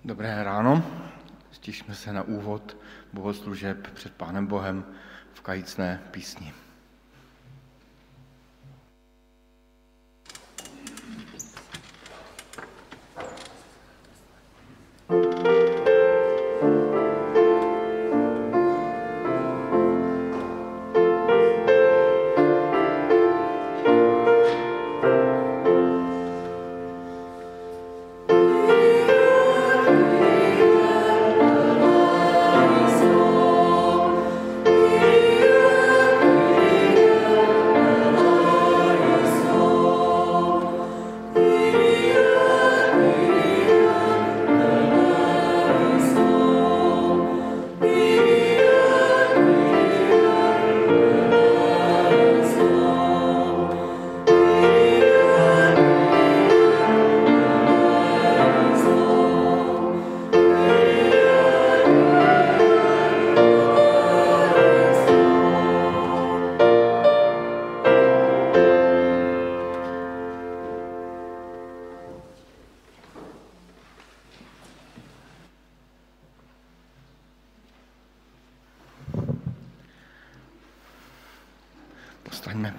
Dobré ráno, stišme se na úvod bohoslužeb před Pánem Bohem v kajícné písni. Postaňme.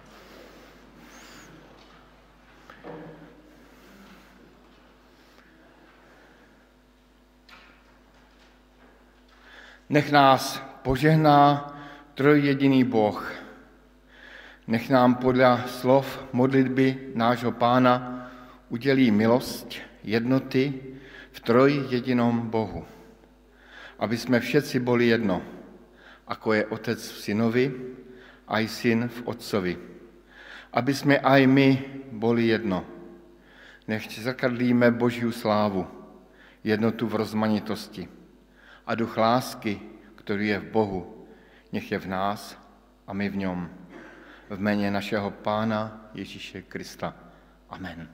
Nech nás požehná trojjediný Boh. Nech nám podle slov modlitby nášho Pána udělí milost jednoty v trojjedinom Bohu. Aby jsme všetci boli jedno, ako je Otec v Synovi, aj Syn v Otcovi. Aby sme aj my boli jedno. Nechť zrkadlíme Božiu slávu, jednotu v rozmanitosti. A duch lásky, ktorý je v Bohu, nech je v nás a my v ňom. V mene našeho Pána Ježíše Krista. Amen.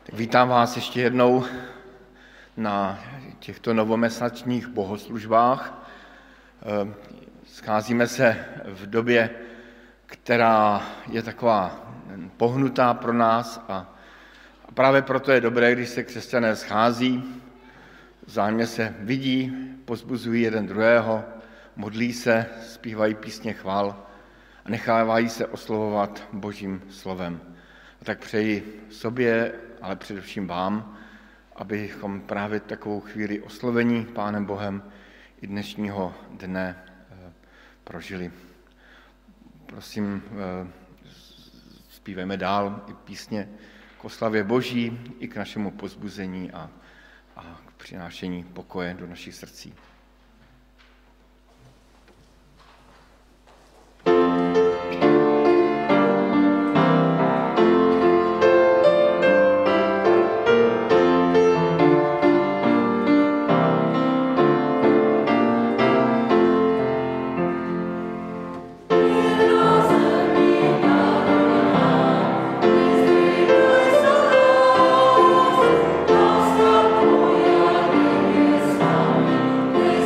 Vítám vás ještě jednou na těchto novomesačních bohoslužbách. Scházíme se v době, která je taková pohnutá pro nás a právě proto je dobré, když se křesťané schází, vzájemně se vidí, povzbuzují jeden druhého, modlí se, zpívají písně chvál a nechávají se oslovovat Božím slovem. A tak přeji sobě, ale především vám, abychom právě takovou chvíli oslovení Pánem Bohem i dnešního dne prožili. Prosím, zpívejme dál i písně k oslavě Boží, i k našemu povzbuzení a k přinášení pokoje do našich srdcí. Amen.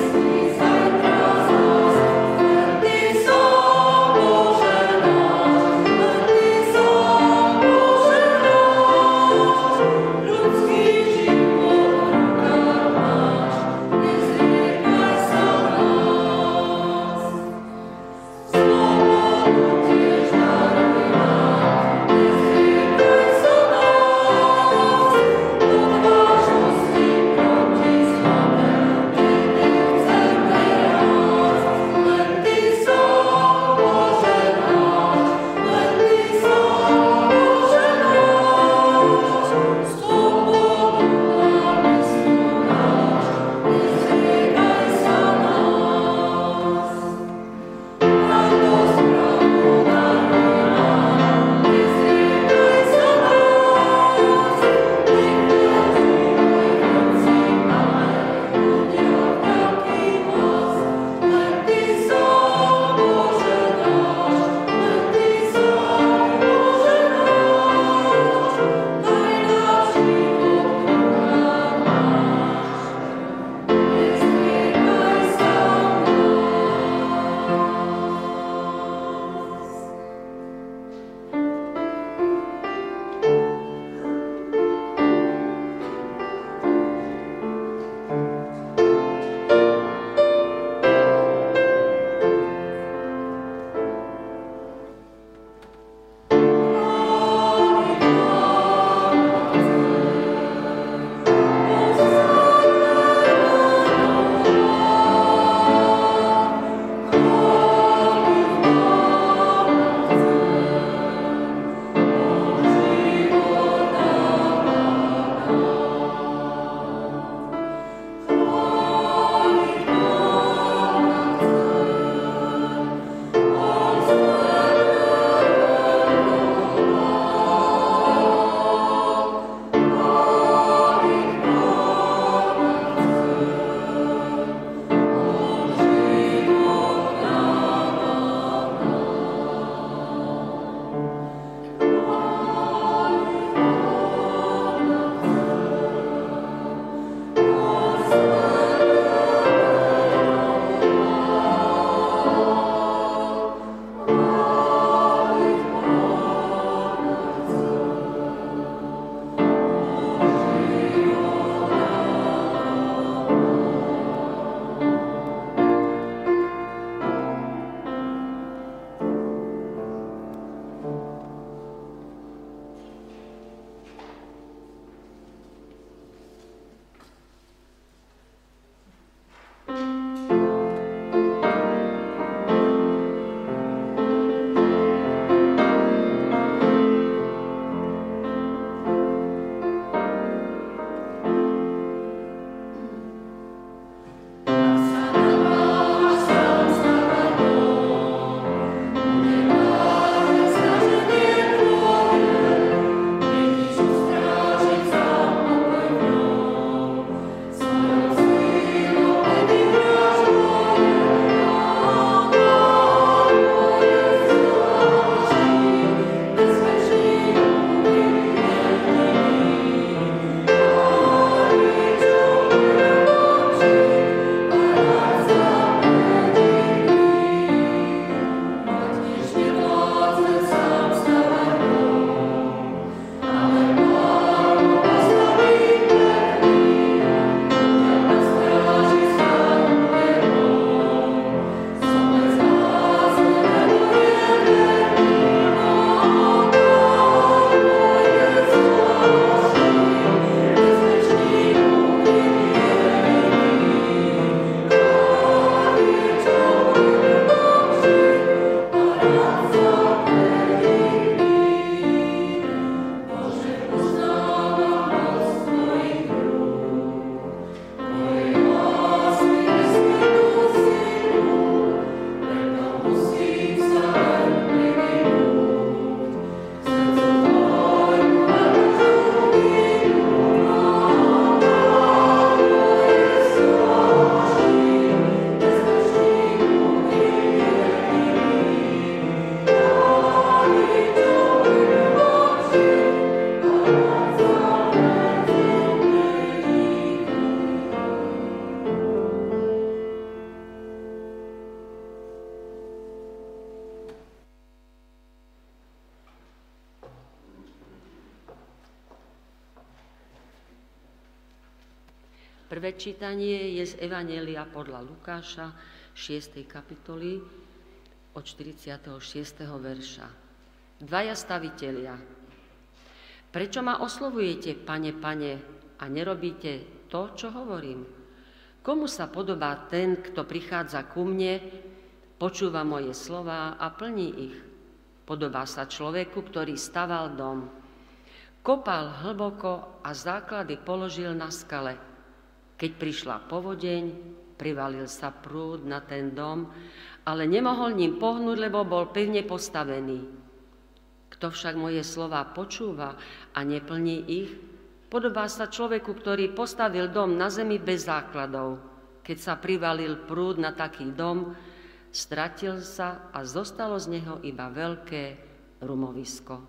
Prvé čítanie je z Evanjelia podľa Lukáša, 6. kapitoly, od 46. verša. Dvaja stavitelia. Prečo ma oslovujete, Pane, Pane, a nerobíte to, čo hovorím? Komu sa podobá ten, kto prichádza ku mne, počúva moje slová a plní ich? Podobá sa človeku, ktorý staval dom. Kopal hlboko a základy položil na skale. Keď prišla povodeň, privalil sa prúd na ten dom, ale nemohol ním pohnúť, lebo bol pevne postavený. Kto však moje slová počúva a neplní ich, podobá sa človeku, ktorý postavil dom na zemi bez základov. Keď sa privalil prúd na taký dom, stratil sa a zostalo z neho iba veľké rumovisko.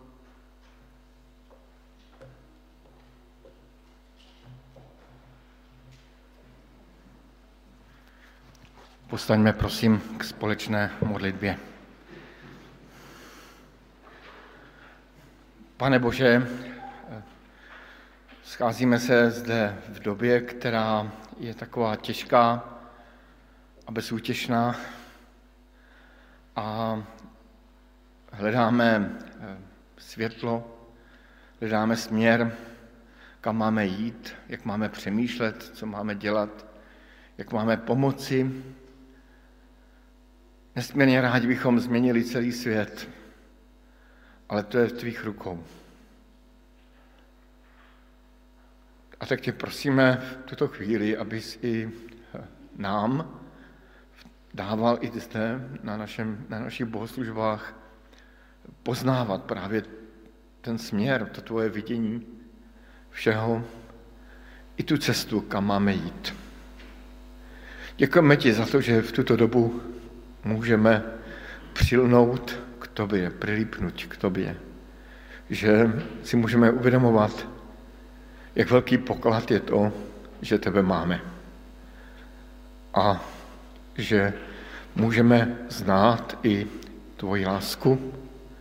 Postaňme prosím k společné modlitbě. Pane Bože, scházíme se zde v době, která je taková těžká a bezútěšná a hledáme světlo, hledáme směr, kam máme jít, jak máme přemýšlet, co máme dělat, jak máme pomoci. Nesmírně rádi bychom změnili celý svět, ale to je v tvých rukou. A tak tě prosíme v tuto chvíli, abys i nám dával i zde na našich bohoslužbách poznávat právě ten směr, to tvoje vidění všeho, i tu cestu, kam máme jít. Děkujeme ti za to, že v tuto dobu můžeme přilnout k tobě, přilípnout k tobě, že si můžeme uvědomovat, jak velký poklad je to, že tebe máme a že můžeme znát i tvoji lásku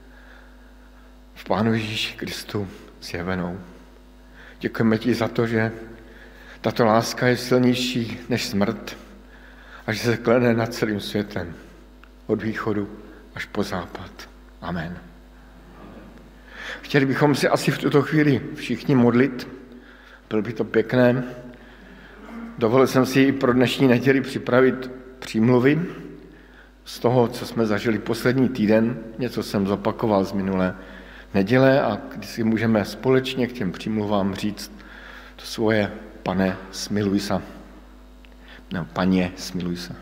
v Pánu Ježíši Kristu zjevenou. Děkujeme ti za to, že tato láska je silnější než smrt a že se klene nad celým světem, od východu až po západ. Amen. Chtěli bychom si asi v tuto chvíli všichni modlit, bylo by to pěkné. Dovolil jsem si i pro dnešní neděli připravit přímluvy z toho, co jsme zažili poslední týden. Něco jsem zopakoval z minulé neděle a když si můžeme společně k těm přímluvám říct to svoje pane, smiluj se. No, paně, smiluj se.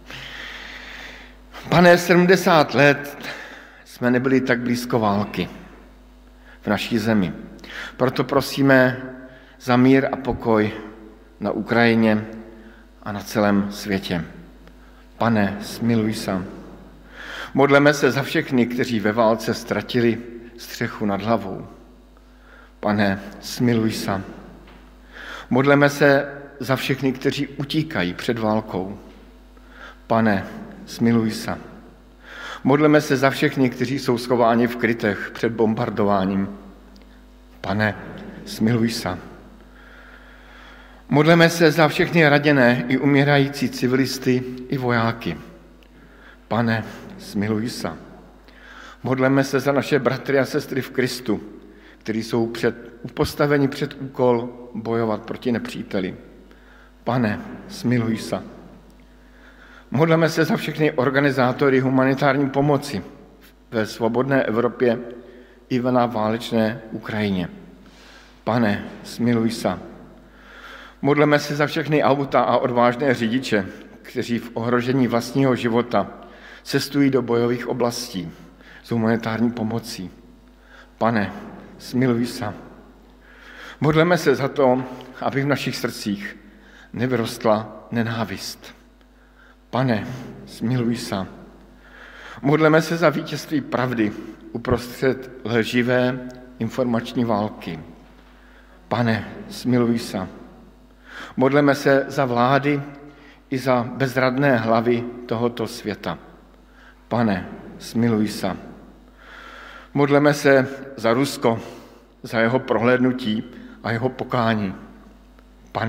Pane, 70 let jsme nebyli tak blízko války v naší zemi. Proto prosíme za mír a pokoj na Ukrajině a na celém světě. Pane, smiluj se. Modleme se za všechny, kteří ve válce ztratili střechu nad hlavou. Pane, smiluj se. Modleme se za všechny, kteří utíkají před válkou. Pane, smiluj se. Modleme se za všechny, kteří jsou schováni v krytech před bombardováním. Pane, smiluj se. Modleme se za všechny raděné i umírající civilisty i vojáky. Pane, smiluj se. Modleme se za naše bratry a sestry v Kristu, kteří jsou postaveni před úkol bojovat proti nepříteli. Pane, smiluj se. Modleme se za všechny organizátory humanitární pomoci ve svobodné Evropě i na válečné Ukrajině. Pane, smiluj se. Modleme se za všechny auta a odvážné řidiče, kteří v ohrožení vlastního života cestují do bojových oblastí s humanitární pomocí. Pane, smiluj se. Modleme se za to, aby v našich srdcích nevyrostla nenávist. Pane, smiluj se. Modleme se za vítězství pravdy uprostřed lživé informační války. Pane, smiluj se. Modleme se za vlády i za bezradné hlavy tohoto světa. Pane, smiluj se. Modleme se za Rusko, za jeho prohlédnutí a jeho pokání. Pane,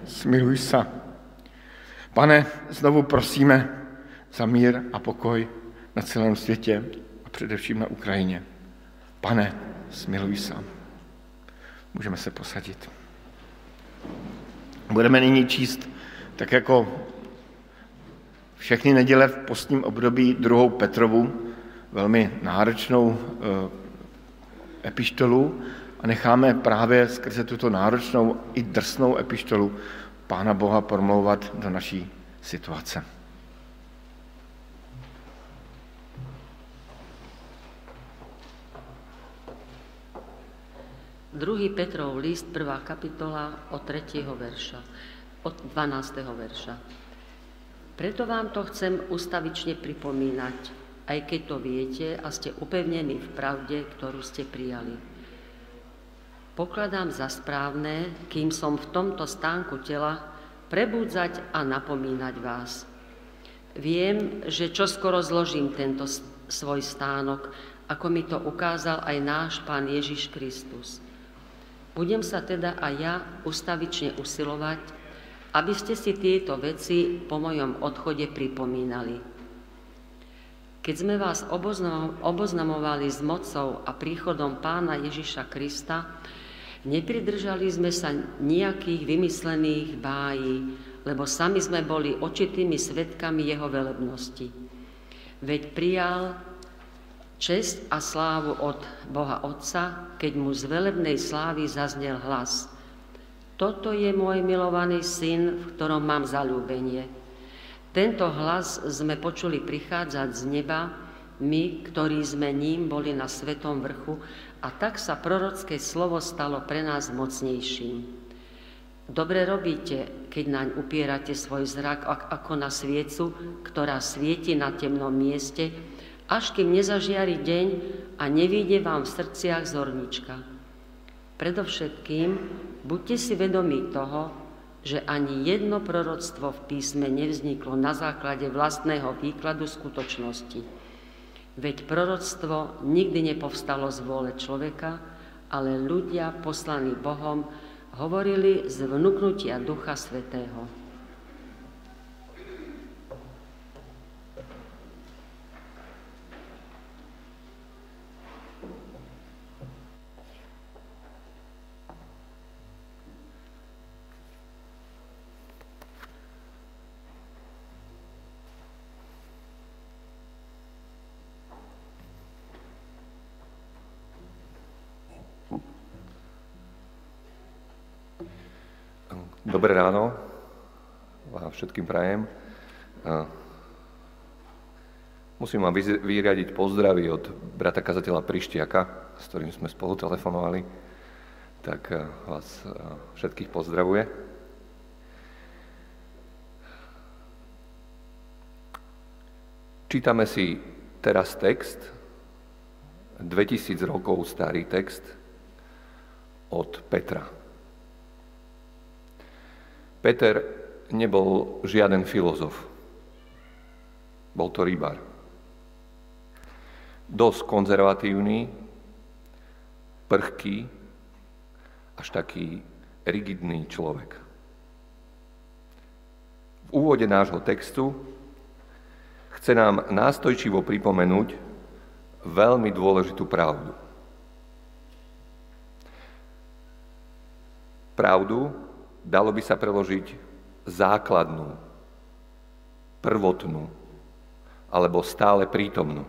smiluj sa. Pane, znovu prosíme za mír a pokoj na celém světě a především na Ukrajině. Pane, smiluj sa. Můžeme se posadit. Budeme nyní číst, tak jako všechny neděle v postním období, 2. Petrovu, velmi náročnou epištolu a necháme právě skrze tuto náročnou i drsnou epištolu Pána Boha promlouvat do naší situace. Druhý Petrov list, 1. kapitola od 3. verša, od 12. verša. Preto vám to chcem ustavične pripomínať, aj keď to viete a ste upevnení v pravde, ktorú ste prijali. Pokladám za správne, kým som v tomto stánku tela, prebúdzať a napomínať vás. Viem, že čoskoro zložím tento svoj stánok, ako mi to ukázal aj náš Pán Ježiš Kristus. Budem sa teda aj ja ustavične usilovať, aby ste si tieto veci po mojom odchode pripomínali. Keď sme vás oboznamovali s mocou a príchodom Pána Ježiša Krista, nepridržali sme sa nejakých vymyslených bájí, lebo sami sme boli očitými svedkami jeho velebnosti. Veď prijal česť a slávu od Boha Otca, keď mu z velebnej slávy zaznel hlas. Toto je môj milovaný syn, v ktorom mám zaľúbenie. Tento hlas sme počuli prichádzať z neba, my, ktorí sme ním boli na Svetom vrchu, a tak sa prorocké slovo stalo pre nás mocnejším. Dobre robíte, keď naň upierate svoj zrak ako na sviecu, ktorá svieti na temnom mieste, až kým nezažiari deň a nevíde vám v srdciach zornička. Predovšetkým buďte si vedomí toho, že ani jedno proroctvo v písme nevzniklo na základe vlastného výkladu skutočnosti. Veď proroctvo nikdy nepovstalo z vôle človeka, ale ľudia poslaní Bohom hovorili z vnuknutia Ducha Svätého. Dobré ráno, vám všetkým prajem. Musím vám vyradiť pozdravy od brata kazateľa Prištiaka, s ktorým sme spolu telefonovali, tak vás všetkých pozdravuje. Čítame si teraz text, 2000 rokov starý text od Petra. Peter nebol žiaden filozof. Bol to rybár. Dosť konzervatívny, prchký, až taký rigidný človek. V úvode nášho textu chce nám nástojčivo pripomenúť veľmi dôležitú pravdu. Pravdu, dalo by sa preložiť základnú, prvotnú alebo stále prítomnú.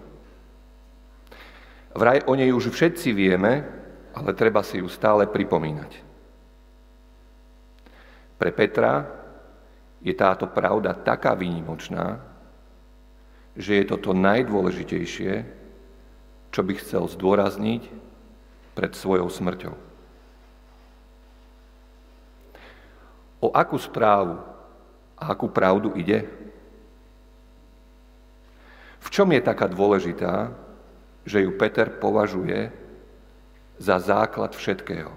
Vraj o nej už všetci vieme, ale treba si ju stále pripomínať. Pre Petra je táto pravda taká výnimočná, že je to najdôležitejšie, čo by chcel zdôrazniť pred svojou smrťou. O akú správu a akú pravdu ide? V čom je taká dôležitá, že ju Peter považuje za základ všetkého?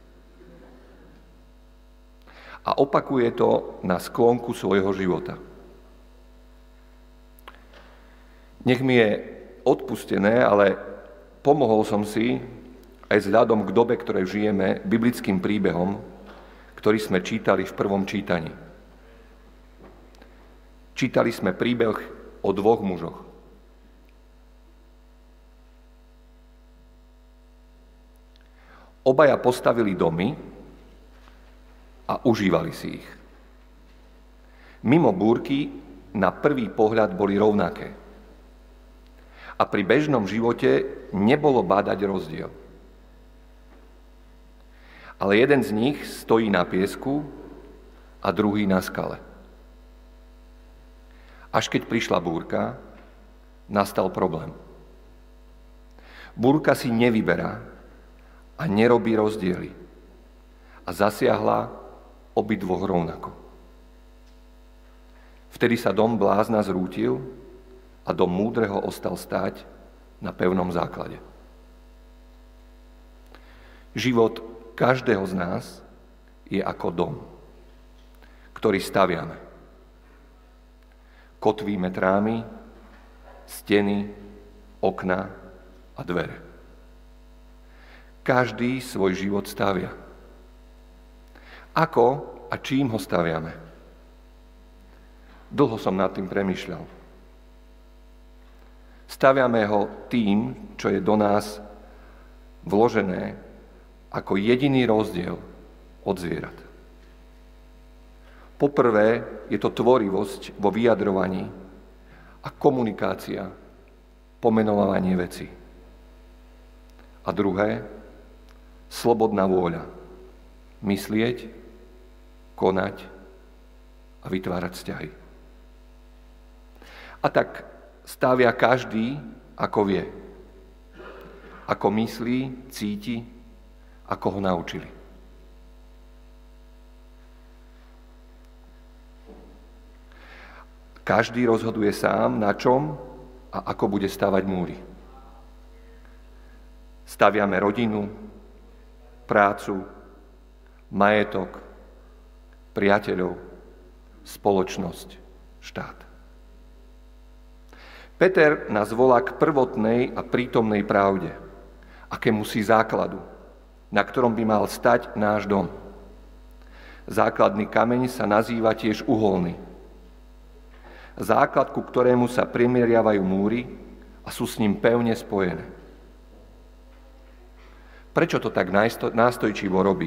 A opakuje to na sklonku svojho života. Nech mi je odpustené, ale pomohol som si, aj vzhľadom k dobe, ktorej žijeme, biblickým príbehom, ktorý sme čítali v prvom čítaní. Čítali sme príbeh o dvoch mužoch. Obaja postavili domy a užívali si ich. Mimo búrky na prvý pohľad boli rovnaké. A pri bežnom živote nebolo bádať rozdiel. Ale jeden z nich stojí na piesku a druhý na skale. Až keď prišla búrka, nastal problém. Búrka si nevyberá a nerobí rozdiely a zasiahla obidvoch rovnako. Vtedy sa dom blázna zrútil a dom múdreho ostal stáť na pevnom základe. Život každého z nás je ako dom, ktorý staviame. Kotvíme trámy, steny, okná a dvere. Každý svoj život stavia. Ako a čím ho staviame? Dlho som nad tým premýšľal. Staviame ho tým, čo je do nás vložené ako jediný rozdiel od zvierat. Poprvé je to tvorivosť vo vyjadrovaní a komunikácia, pomenovanie veci. A druhé, slobodná vôľa. Myslieť, konať a vytvárať vzťahy. A tak stavia každý, ako vie. Ako myslí, cíti, ako ho naučili. Každý rozhoduje sám, na čom a ako bude stavať múry. Staviame rodinu, prácu, majetok, priateľov, spoločnosť, štát. Peter nás volá k prvotnej a prítomnej pravde, akémusi základu, na ktorom by mal stať náš dom. Základný kameň sa nazýva tiež uholný. Základ, ku ktorému sa primeriavajú múry a sú s ním pevne spojené. Prečo to tak nástojčivo robí?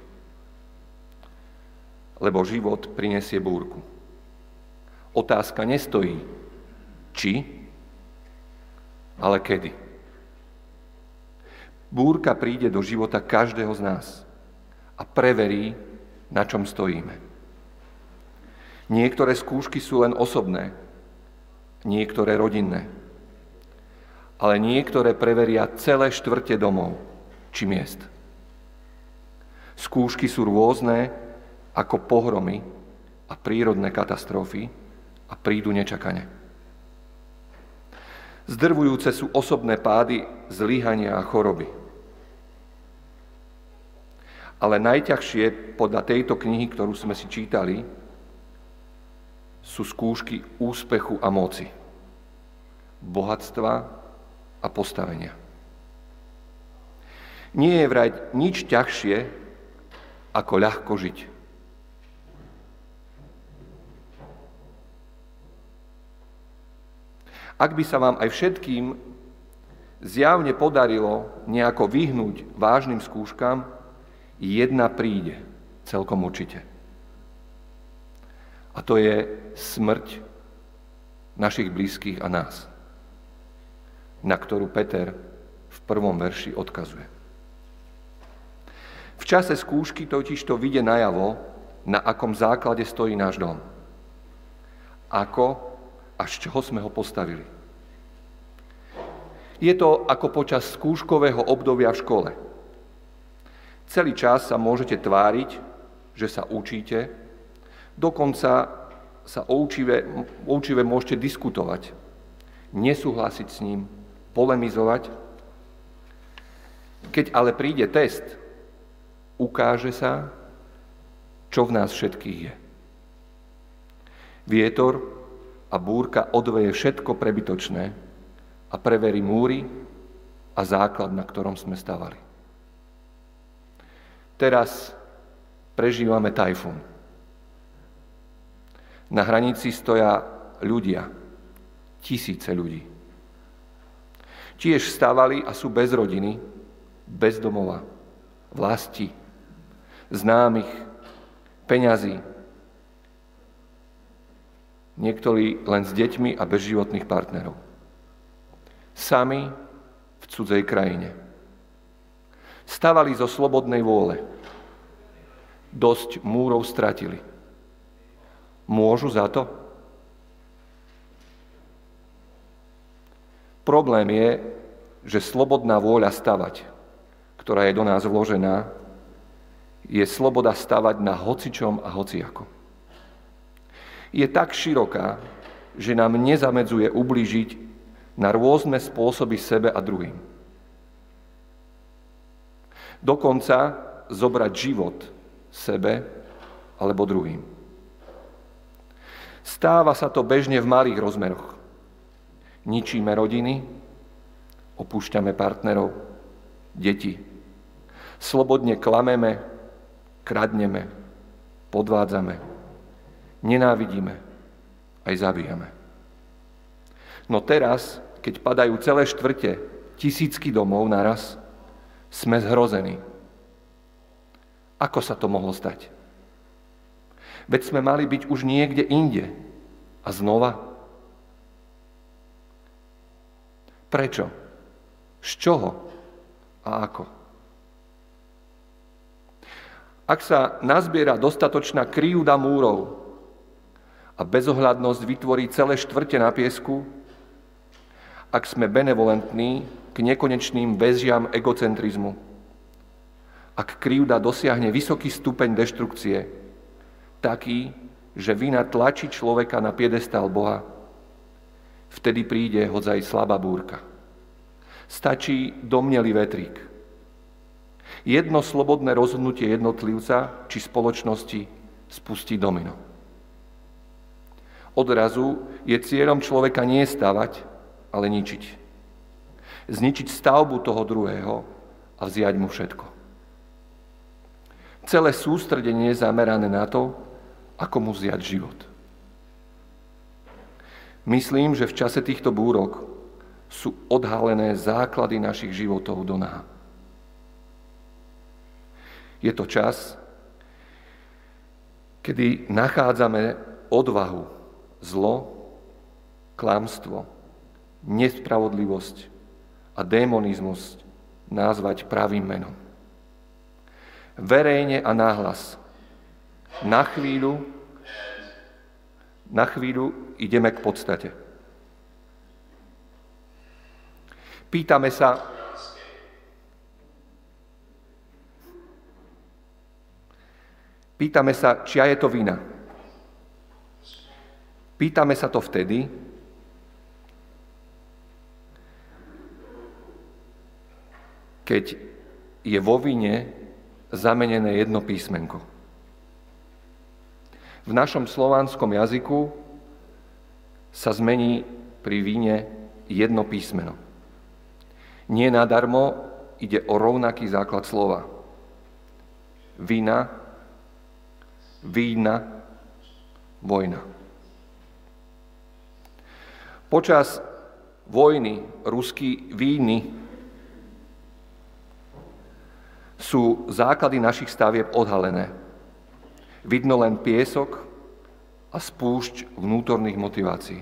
Lebo život prinesie búrku. Otázka nestojí či, ale kedy. Búrka príde do života každého z nás a preverí, na čom stojíme. Niektoré skúšky sú len osobné, niektoré rodinné, ale niektoré preveria celé štvrte domov či miest. Skúšky sú rôzne ako pohromy a prírodné katastrofy a prídu nečakane. Zdrvujúce sú osobné pády, zlyhania a choroby. Ale najťažšie podľa tejto knihy, ktorú sme si čítali, sú skúšky úspechu a moci, bohatstva a postavenia. Nie je vraj nič ťažšie, ako ľahko žiť. Ak by sa vám aj všetkým zjavne podarilo nejako vyhnúť vážnym skúškam, jedna príde celkom určite. A to je smrť našich blízkych a nás, na ktorú Peter v prvom verši odkazuje. V čase skúšky totiž to vyjde najavo, na akom základe stojí náš dom. Ako a z čoho sme ho postavili. Je to ako počas skúškového obdobia v škole. Celý čas sa môžete tváriť, že sa učíte, dokonca sa o učive môžete diskutovať, nesúhlasiť s ním, polemizovať. Keď ale príde test, ukáže sa, čo v nás všetkých je. Vietor a búrka odveje všetko prebytočné a preverí múry a základ, na ktorom sme stavali. Teraz prežívame tajfún. Na hranici stoja ľudia, tisíce ľudí. Tiež stávali a sú bez rodiny, bez domova, vlasti, známych, peňazí. Niektorí len s deťmi a bez životných partnerov. Sami v cudzej krajine. Stávali zo slobodnej vôle. Dosť múrov stratili. Môžu za to? Problém je, že slobodná vôľa stavať, ktorá je do nás vložená, je sloboda stavať na hocičom a hociako. Je tak široká, že nám nezamedzuje ublížiť na rôzne spôsoby sebe a druhým. Dokonca zobrať život sebe alebo druhým. Stáva sa to bežne v malých rozmeroch. Ničíme rodiny, opúšťame partnerov, deti. Slobodne klameme, kradneme, podvádzame, nenávidíme, aj zabíjame. No teraz, keď padajú celé štvrte, tisícky domov naraz, sme zhrození. Ako sa to mohlo stať? Veď sme mali byť už niekde inde. A znova? Prečo? Z čoho? A ako? Ak sa nazbiera dostatočná kryjúda múrov a bezohľadnosť vytvorí celé štvrte na piesku, ak sme benevolentní k nekonečným väzžiam egocentrizmu, ak kryjúda dosiahne vysoký stupeň deštrukcie, taký, že vina tlačí človeka na piedestál Boha, vtedy príde hodzaj slabá búrka. Stačí domnelý vetrík. Jedno slobodné rozhodnutie jednotlivca či spoločnosti spustí domino. Odrazu je cieľom človeka nie stavať, ale ničiť. Zničiť stavbu toho druhého a vziať mu všetko. Celé sústredenie je zamerané na to, ako mu vziať život. Myslím, že v čase týchto búrok sú odhalené základy našich životov do náha. Je to čas, kedy nachádzame odvahu zlo, klamstvo, nespravodlivosť a démonizmus nazvať pravým menom. Verejne a nahlas. Na chvíľu ideme k podstate. Pýtame sa, čia je to vina. Pýtame sa to vtedy, keď je vo vine zamenené jedno písmenko. V našom slovanskom jazyku sa zmení pri víne jedno písmeno. Nie nadarmo ide o rovnaký základ slova. Vina, vína, vojna. Počas vojny ruský víny sú základy našich stavieb odhalené. Vidno len piesok a spúšť vnútorných motivácií.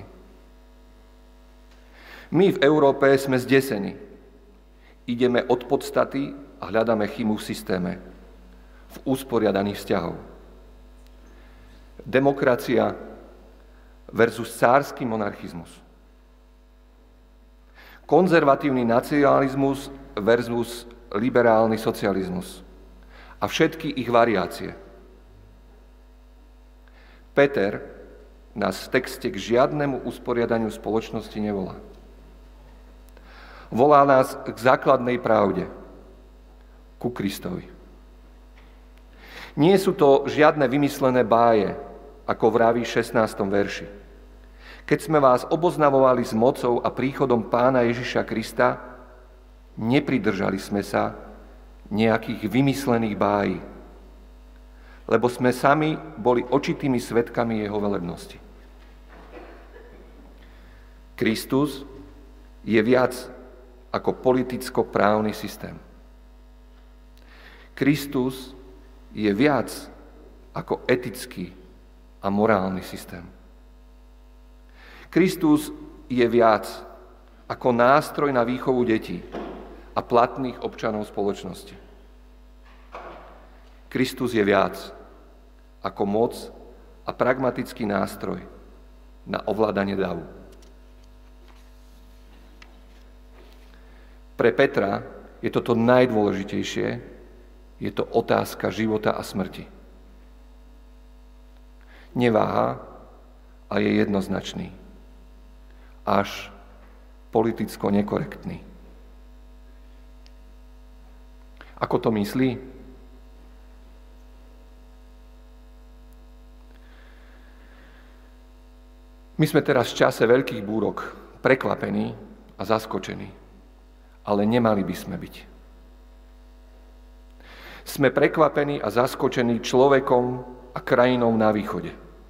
My v Európe sme zdesení. Ideme od podstaty a hľadáme chybu v systéme, v usporiadaných vzťahov. Demokracia versus cársky monarchizmus. Konzervatívny nacionalizmus versus liberálny socializmus. A všetky ich variácie. Peter nás v texte k žiadnemu usporiadaniu spoločnosti nevolá. Volá nás k základnej pravde, ku Kristovi. Nie sú to žiadne vymyslené báje, ako vraví v 16. verši. Keď sme vás oboznamovali s mocou a príchodom Pána Ježiša Krista, nepridržali sme sa nejakých vymyslených bájí. lebo sme sami boli očitými svedkami jeho velebnosti. Kristus je viac ako politicko-právny systém. Kristus je viac ako etický a morálny systém. Kristus je viac ako nástroj na výchovu detí a platných občanov spoločnosti. Kristus je viac ako moc a pragmatický nástroj na ovládanie davu. Pre Petra je toto najdôležitejšie, je to otázka života a smrti. Neváha a je jednoznačný, až politicko nekorektný. Ako to myslí? My sme teraz v čase veľkých búrok prekvapení a zaskočení, ale nemali by sme byť. Sme prekvapení a zaskočení človekom a krajinou na východe.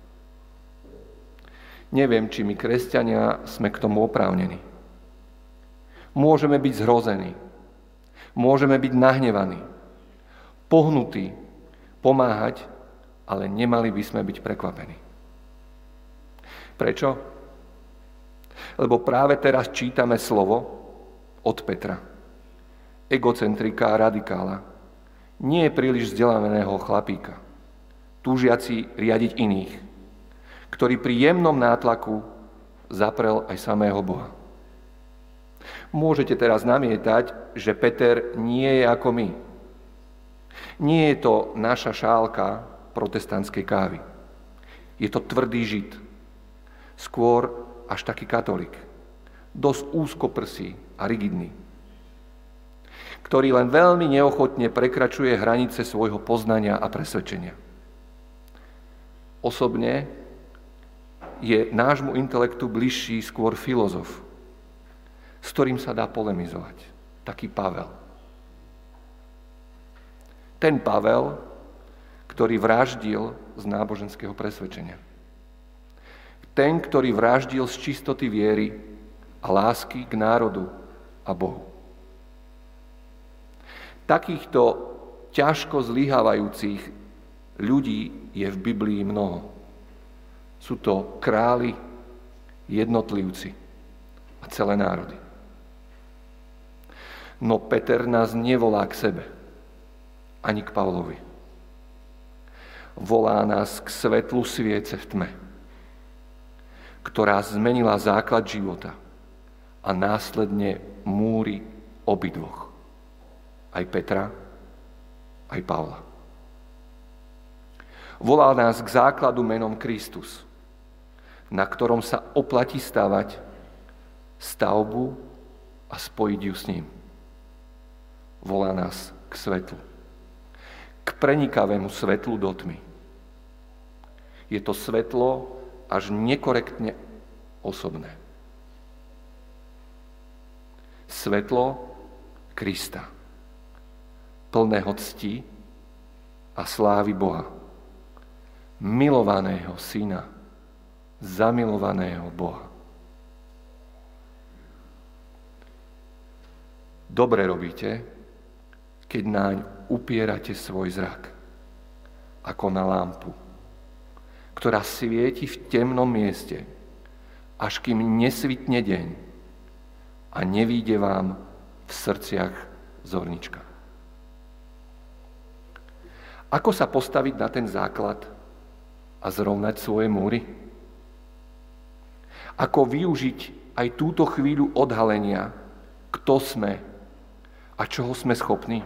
Neviem, či my, kresťania, sme k tomu oprávnení. Môžeme byť zhrození, môžeme byť nahnevaní, pohnutí, pomáhať, ale nemali by sme byť prekvapení. Prečo? Lebo práve teraz čítame slovo od Petra, egocentrika a radikála, nie je príliš vzdelaného chlapíka, túžiaci riadiť iných, ktorý pri jemnom nátlaku zaprel aj samého Boha. Môžete teraz namietať, že Peter nie je ako my. Nie je to naša šálka protestantskej kávy. Je to tvrdý Žid, skôr až taký katolík, dosť úzkoprsý a rigidný, ktorý len veľmi neochotne prekračuje hranice svojho poznania a presvedčenia. Osobne je nášmu intelektu bližší skôr filozof, s ktorým sa dá polemizovať, taký Pavel. Ten Pavel, ktorý vraždil z náboženského presvedčenia. Ten, ktorý vraždil z čistoty viery a lásky k národu a Bohu. Takýchto ťažko zlyhávajúcich ľudí je v Biblii mnoho. Sú to králi, jednotlivci a celé národy. No Peter nás nevolá k sebe, ani k Pavlovi. Volá nás k svetlu sviece v tme, ktorá zmenila základ života a následne múry obidvoch. Aj Petra, aj Pavla. Volá nás k základu menom Kristus, na ktorom sa oplatí stavať stavbu a spojiť ju s ním. Volá nás k svetlu, k prenikavému svetlu do tmy. Je to svetlo až nekorektne osobné. Svetlo Krista, plného cti a slávy Boha, milovaného Syna, zamilovaného Boha. Dobre robíte, keď naň upierate svoj zrak, ako na lampu, ktorá svieti v temnom mieste, až kým nesvitne deň a nevíde vám v srdciach zornička. Ako sa postaviť na ten základ a zrovnať svoje múry? Ako využiť aj túto chvíľu odhalenia, kto sme a čoho sme schopní?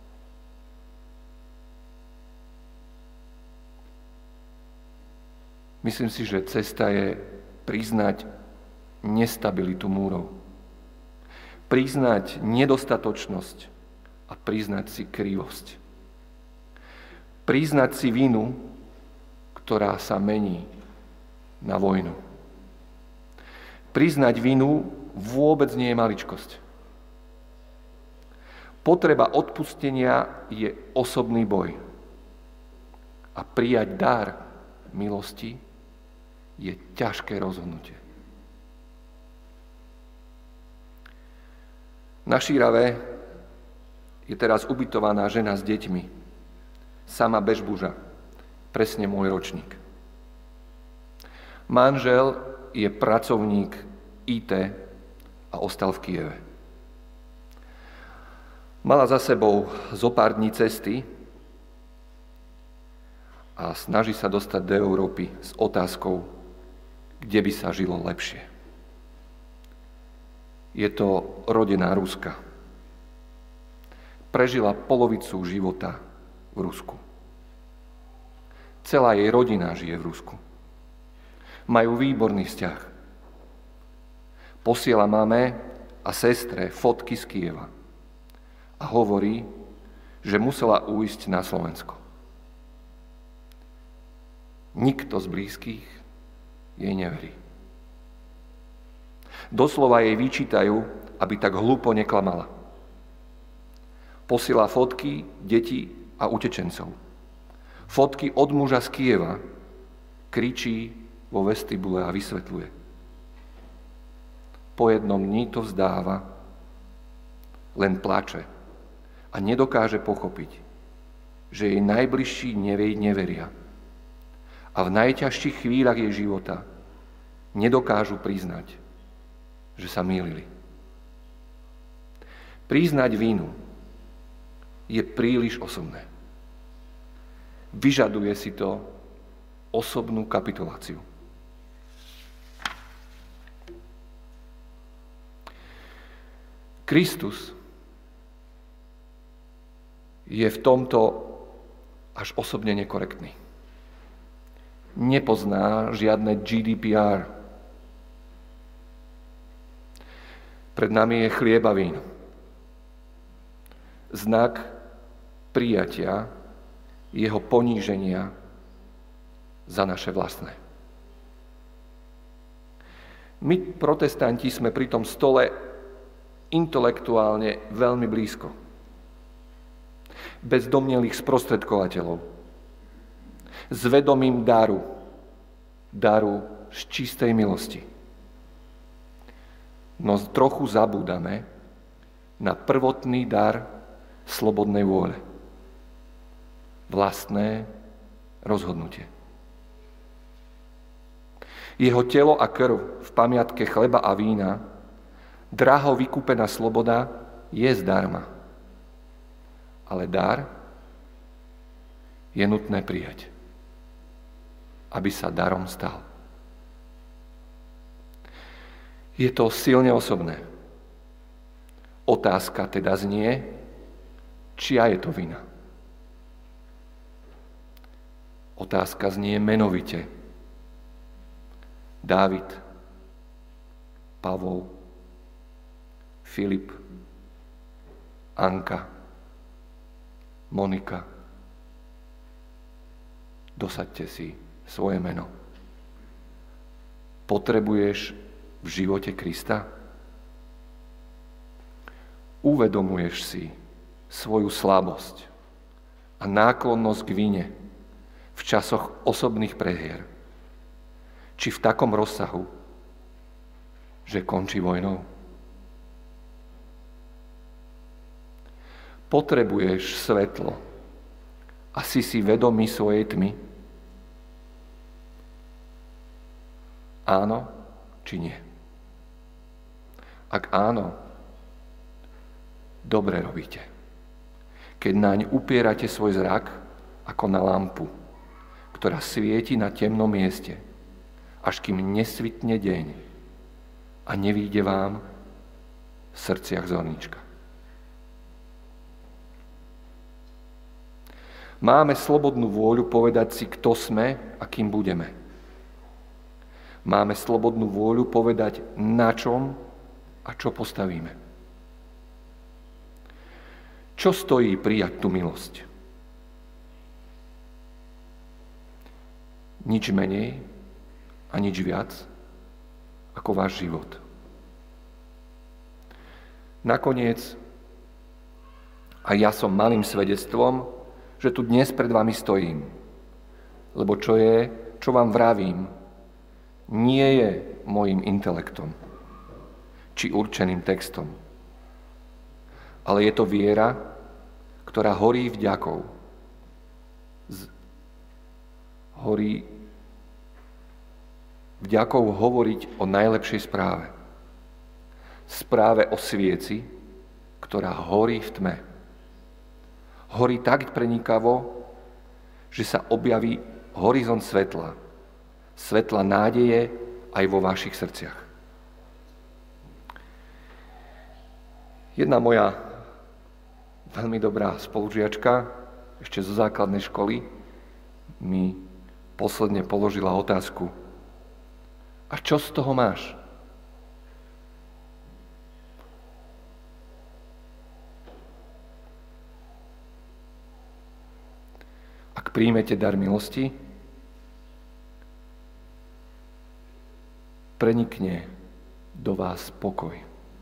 Myslím si, že cesta je priznať nestabilitu múrov. Priznať nedostatočnosť a priznať si krivosť. Priznať si vinu, ktorá sa mení na vojnu. Priznať vinu vôbec nie je maličkosť. Potreba odpustenia je osobný boj. A a prijať dar milosti je ťažké rozhodnutie. Na Šírave je teraz ubytovaná žena s deťmi, sama Bežbuža, presne môj ročník. Manžel je pracovník IT a ostal v Kyjeve. Mala za sebou zo pár dní cesty a snaží sa dostať do Európy s otázkou, kde by sa žilo lepšie. Je to rodená Ruska. Prežila polovicu života v Rusku. Celá jej rodina žije v Rusku. Majú výborný vzťah. Posiela mame a sestre fotky z Kyjeva a hovorí, že musela ujsť na Slovensko. Nikto z blízkych jej neverí. Doslova jej vyčítajú, aby tak hlúpo neklamala. Posiela fotky detí a utečencov. Fotky od muža z Kyjeva, kričí vo vestibule a vysvetľuje. Po jednom dni to vzdáva, len plače a nedokáže pochopiť, že jej najbližší neveria. A v najťažších chvíľach jej života nedokážu priznať, že sa mýlili. Priznať vinu je príliš osobné. Vyžaduje si to osobnú kapituláciu. Kristus je v tomto až osobne nekorektný. Nepozná žiadne GDPR. Pred nami je chlieb a víno. Znak prijatia jeho poníženia za naše vlastné. My, protestanti, sme pri tom stole intelektuálne veľmi blízko. Bez domnelých sprostredkovateľov. S vedomím daru z čistej milosti. No trochu zabúdame na prvotný dar slobodnej vôle. Vlastné rozhodnutie. Jeho telo a krv v pamiatke chleba a vína, draho vykúpená sloboda, je zdarma. Ale dar je nutné prijať, aby sa darom stal. Je to silne osobné. Otázka teda znie, čia je to vina. Otázka znie menovite. Dávid, Pavol, Filip, Anka, Monika. Dosaďte si svoje meno. Potrebuješ v živote Krista? Uvedomuješ si svoju slabosť a náklonnosť k vine v časoch osobných prehier, či v takom rozsahu, že končí vojnou? Potrebuješ svetlo a si vedomý svojej tmy? Áno či nie? Ak áno, dobre robíte. Keď naň upierate svoj zrak ako na lampu, ktorá svieti na temnom mieste, až kým nesvitne deň a nevíde vám v srdciach zornička. Máme slobodnú vôľu povedať si, kto sme a kým budeme. Máme slobodnú vôľu povedať, na čom a čo postavíme. Čo stojí prijať tú milosť? Nič menej a nič viac ako váš život. Nakoniec, a ja som malým svedectvom, že tu dnes pred vami stojím lebo čo vám vravím, nie je mojím intelektom či určeným textom, ale je to viera, ktorá horí vďakou. Horí vďakou hovoriť o najlepšej správe. Správe o svieci, ktorá horí v tme. Horí tak prenikavo, že sa objaví horizont svetla. Svetla nádeje aj vo vašich srdciach. Jedna moja veľmi dobrá spolužiačka, ešte zo základnej školy, mi posledne položila otázku: a čo z toho máš? Ak príjmete dar milosti, prenikne do vás pokoj.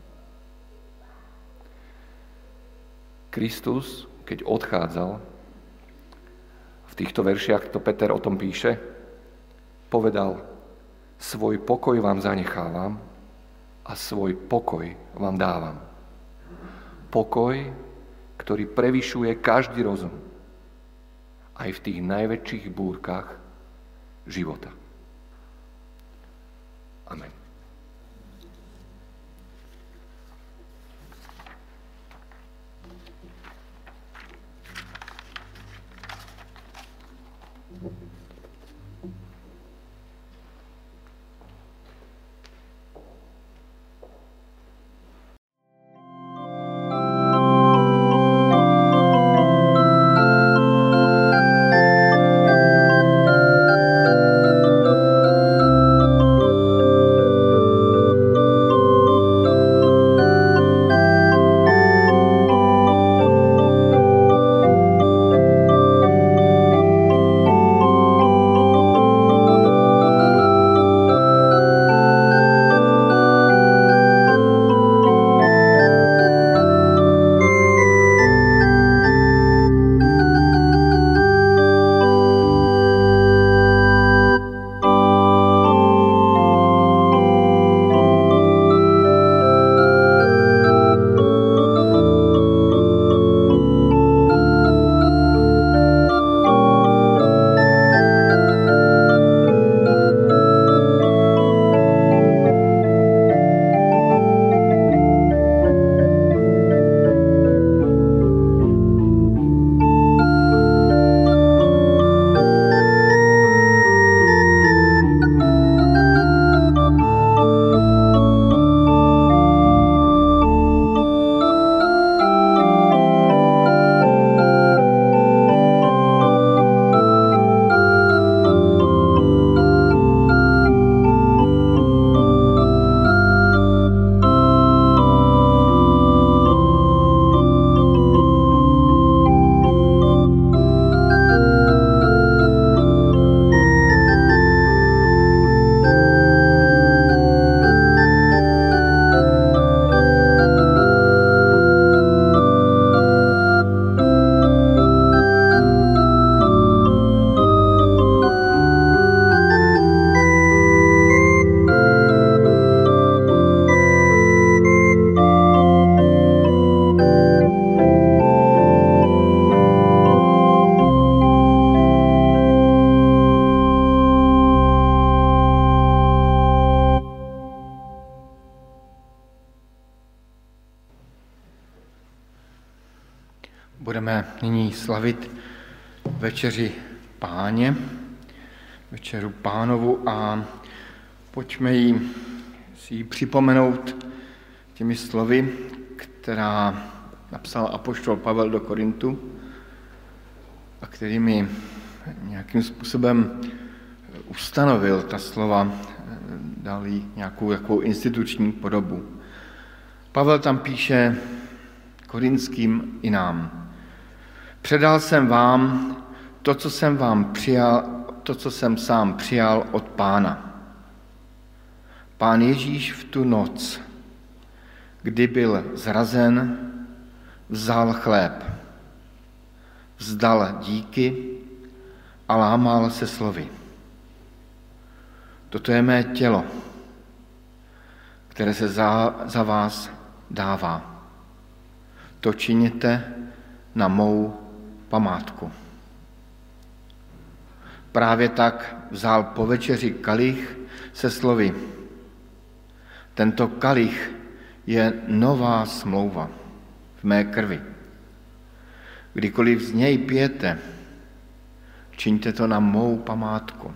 Kristus, keď odchádzal, v týchto veršiach to Peter o tom píše, povedal: svoj pokoj vám zanechávam a svoj pokoj vám dávam. Pokoj, ktorý prevyšuje každý rozum, aj v tých najväčších búrkach života. Amen. Budeme nyní slavit večeři Páně, večeru Pánovu, a pojďme si ji připomenout těmi slovy, která napsal apoštol Pavel do Korintu a kterými nějakým způsobem ustanovil ta slova, dal jí nějakou takovou instituční podobu. Pavel tam píše Korinským i nám: předal jsem vám to, co jsem sám přijal od Pána. Pán Ježíš v tu noc, kdy byl zrazen, vzal chléb, vzdal díky a lámal se slovy. Toto je mé tělo, které se za vás dává. To činěte na mou památku. Právě tak vzal po večeři kalich se slovy. Tento kalich je nová smlouva v mé krvi. Kdykoliv z něj pijete, čiňte to na mou památku.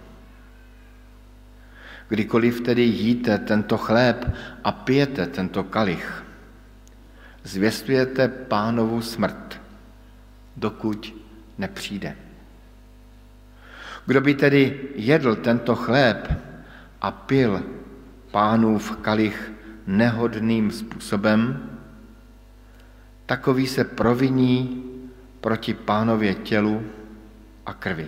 Kdykoliv tedy jíte tento chléb a pijete tento kalich, zvěstujete Pánovu smrt, dokud nepřijde. Kdo by tedy jedl tento chléb a pil Pánův kalich nehodným způsobem, takový se proviní proti Pánově tělu a krvi.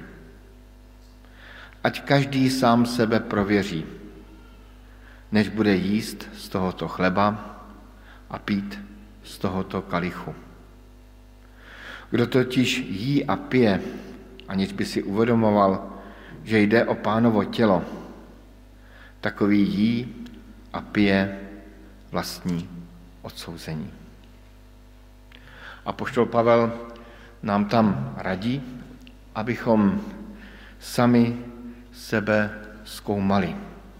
Ať každý sám sebe prověří, než bude jíst z tohoto chleba a pít z tohoto kalichu. Kdo totiž jí a pije, aniž by si uvědomoval, že jde o Pánovo tělo, takový jí a pije vlastní odsouzení. Apoštol Pavel nám tam radí, abychom sami sebe zkoumali.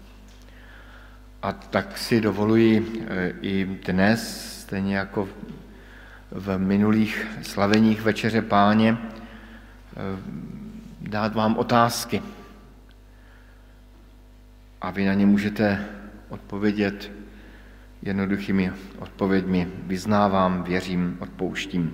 A tak si dovoluji i dnes, stejně jako v minulých slaveních Večeře Páně, dát vám otázky. A vy na ně můžete odpovědět jednoduchými odpověďmi. Vyznávám, věřím, odpouštím.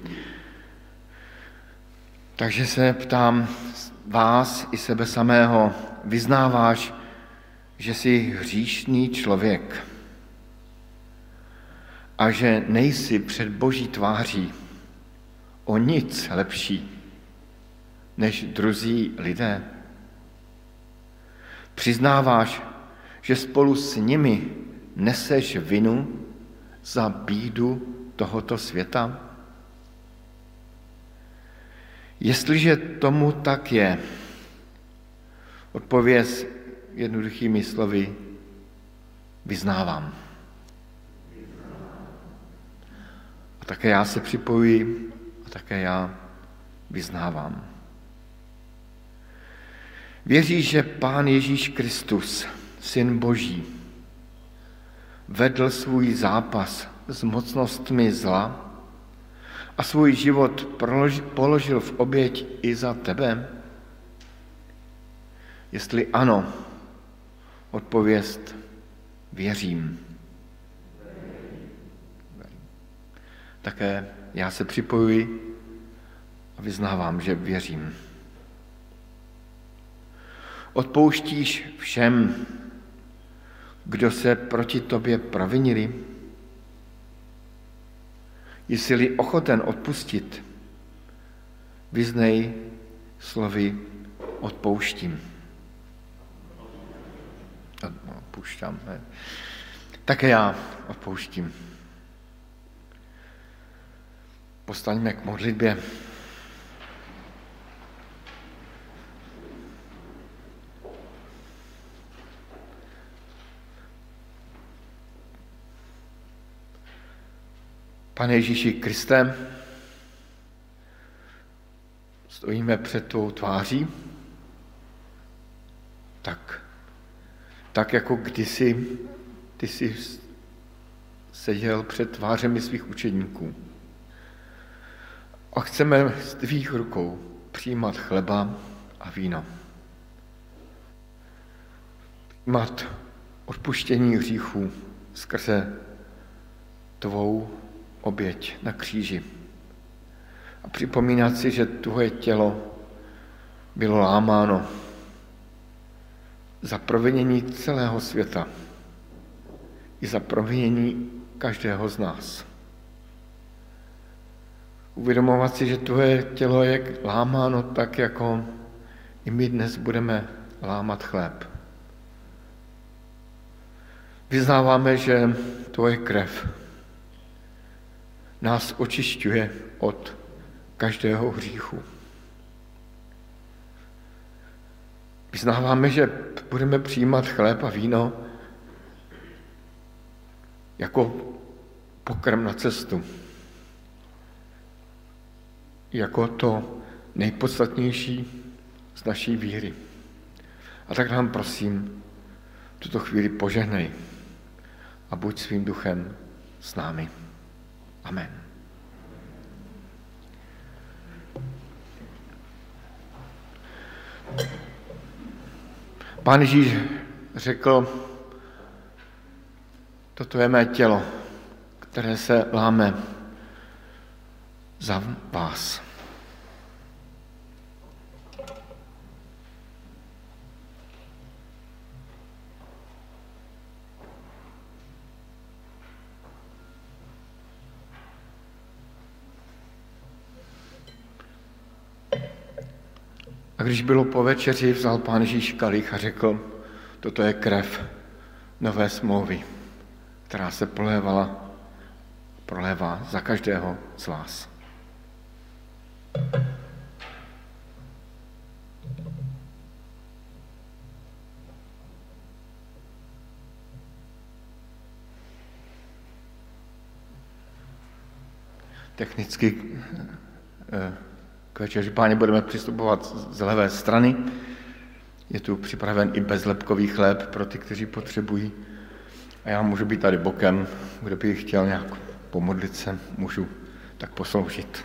Takže se ptám vás i sebe samého, vyznáváš, že jsi hříšný člověk a že nejsi před Boží tváří o nic lepší než druzí lidé? Přiznáváš, že spolu s nimi neseš vinu za bídu tohoto světa? Jestliže tomu tak je, odpověz jednoduchými slovy vyznávám. A také já se připojuji a také já vyznávám. Věříš, že Pán Ježíš Kristus, Syn Boží, vedl svůj zápas s mocnostmi zla a svůj život položil v oběť i za tebe? Jestli ano, odpověst věřím. Také já se připojuji a vyznávám, že věřím. Odpouštíš všem, kdo se proti tobě provinili? Jsi-li ochoten odpustit, vyznej slovy odpouštím. Odpouštám. Ne? Také já odpouštím. Postaňme k modlitbě. Pane Ježíši Kriste, stojíme před tvou tváří, tak jako kdysi ty jsi seděl před tvářemi svých učedníků. A chceme z tvých rukou přijímat chleba a víno. Přijímat odpuštění hříchů skrze tvou oběť na kříži. A připomínat si, že tvoje tělo bylo lámáno za provinění celého světa i za provinění každého z nás. Uvědomovat si, že tvoje tělo je lámáno tak, jako i my dnes budeme lámat chléb. Vyznáváme, že tvoje krev nás očišťuje od každého hříchu. Vyznáváme, že budeme přijímat chléb a víno jako pokrm na cestu. Jako to nejpodstatnější z naší víry. A tak nám prosím, tuto chvíli požehnej a buď svým duchem s námi. Amen. Pán Ježíš řekl, toto je mé tělo, které se láme za vás. A když bylo po večeři, vzal Pán Ježíš kalich a řekl, toto je krev nové smlouvy, která se prolévá za každého z vás. Technicky k večeři Páně budeme přistupovat z levé strany. Je tu připraven i bezlepkový chléb pro ty, kteří potřebují. A já můžu být tady bokem, kdo by chtěl nějak pomodlit se, můžu tak posloužit.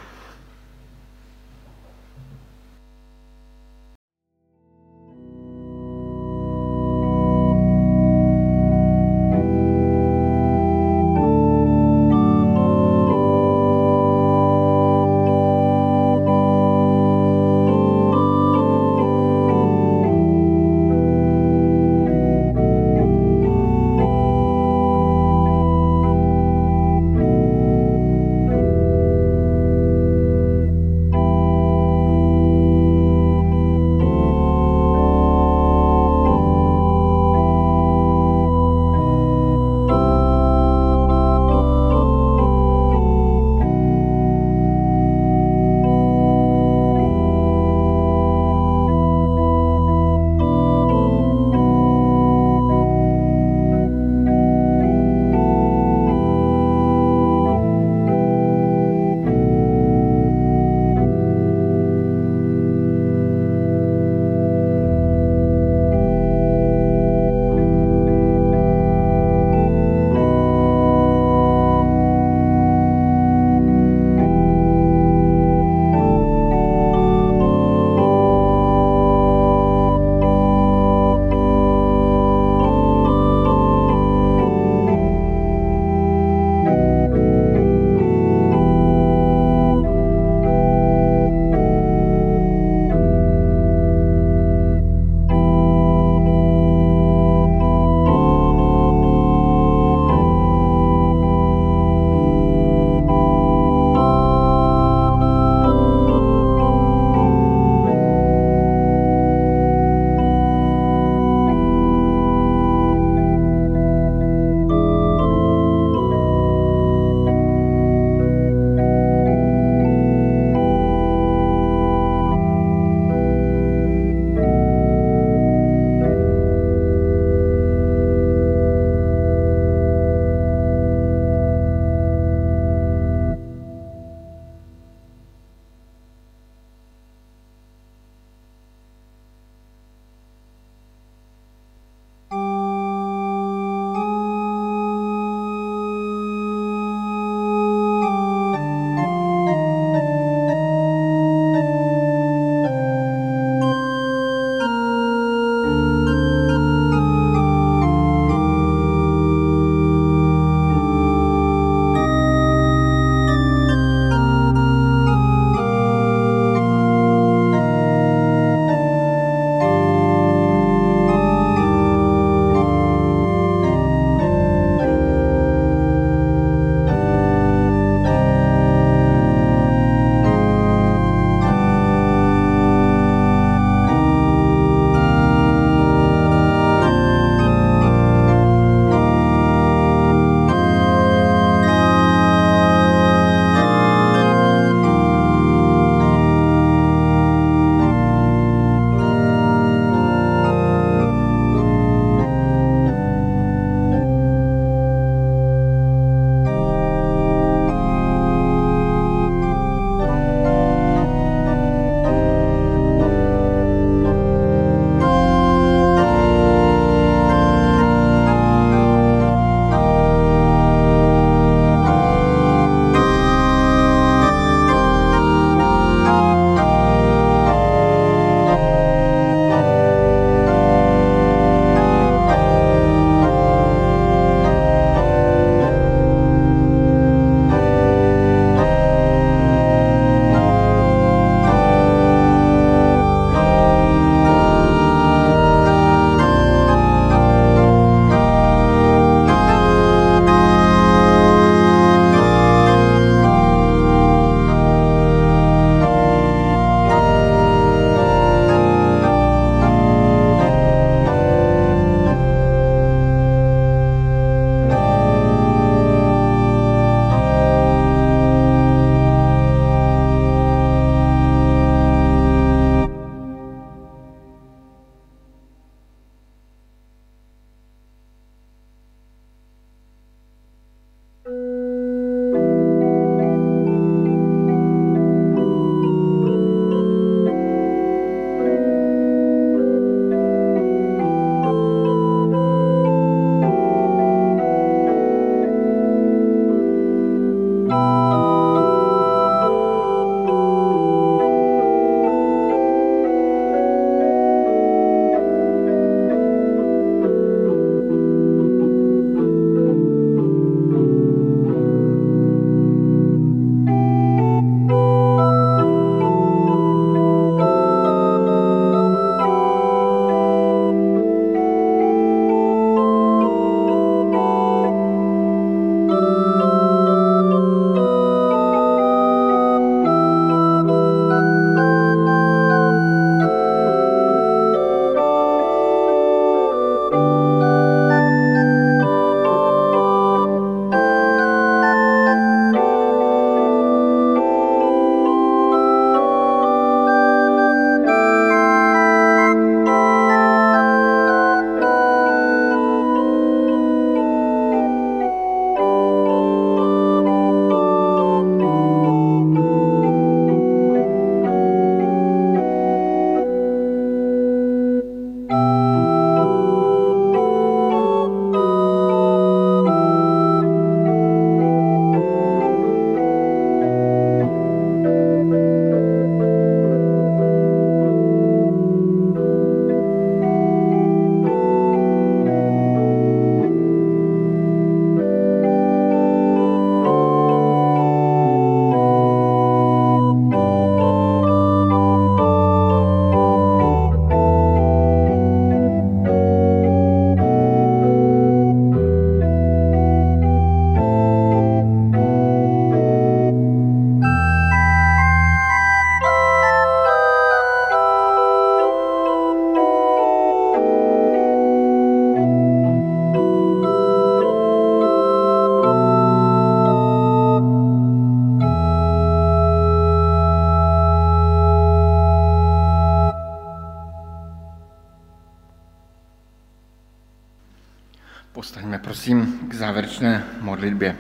Pojďme prosím k závěrečné modlitbě.